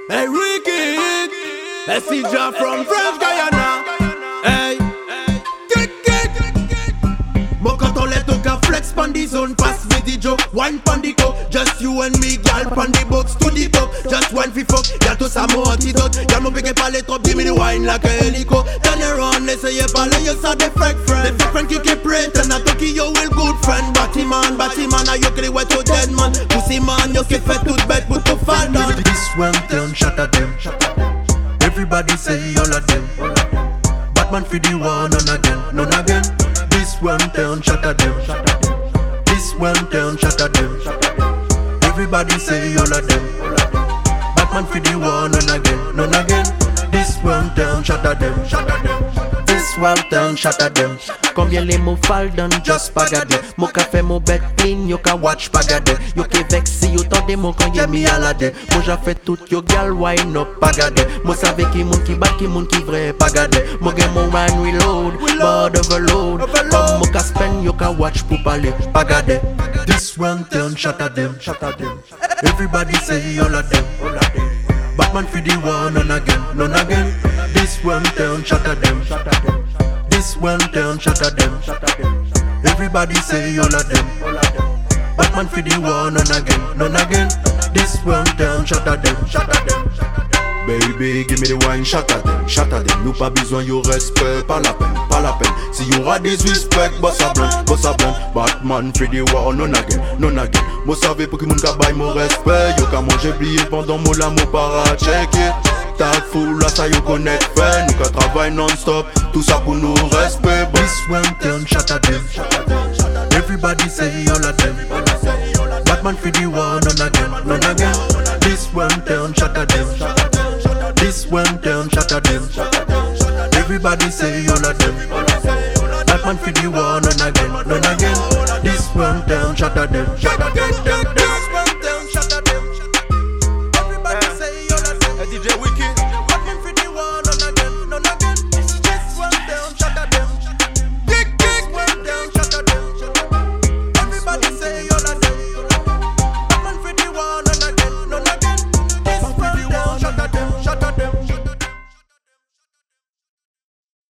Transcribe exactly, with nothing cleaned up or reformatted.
Hey Ricky, messenger from French Guyana. Hey, kick kick. Mo quand on let au cas flex pan the zone, pass me the joke, wine pan the coke. Just you and me, gal pan the box to the top. Just one fi fuck, gal to sa mo antidote. Gal mo peke parler trop, give me the wine like a helico. Turn around, essaye parler, you saw the fake friend. The fake friend qui keep pretend, a talkie you will good friend. Batty man, batty man, a you kill wet to dead man. Pussy man, you keep fait toute bête pour tout fall down. This one turn shot at them. Everybody say all of them. Batman for the one, none again, none again. This one turn shot at them. This one turn shot at them. Everybody say all of them. Batman for the one, none again, none again. This one turn shot at them. This one turn shot at them. Combien les mots fall down, just pas garder. Mon café, mon bed clean, yo ka watch pas garder. Yo ke vex si yo tande mon quand y'a mi alade. Moi j'a fait tout yo gal wine up pas garder. Moi savais qui moun qui bat, qui moun qui vrai pas garder. Moi gen mon wine reload, board overload. Comme mon ka spend, yo ka watch pour parler pas garder. This one turn shot at them. Everybody say all of them. Batman for the one, none again, none again. This one turn shot at them. This one turn shot at them. Everybody say all of them. Batman for the one, none again, none again. This one turn shot at them. Baby, give me the wine, shot at them, shot at them. Nous pas besoin yo respect, pas la peine, pas la peine. Si y aura des respect, boss a blanc, boss a blanc. Batman for the one, none again, none again. Moi savez pour que moun ka baille mon respect. Yo ka manger plié pendant mon l'amour para checker. Tag full là ça yo connaît fait. Nous ka travaille non-stop, tout ça pour nous respect. This one turn shot at them. Everybody say all of them. Batman for the one, none again, none again. This one turn shot at them. This one turn shot at them. Everybody say all of them. Batman for the one, none again, none again. This one turn shot at them. This one turn shot at them. Everybody say all of them. D J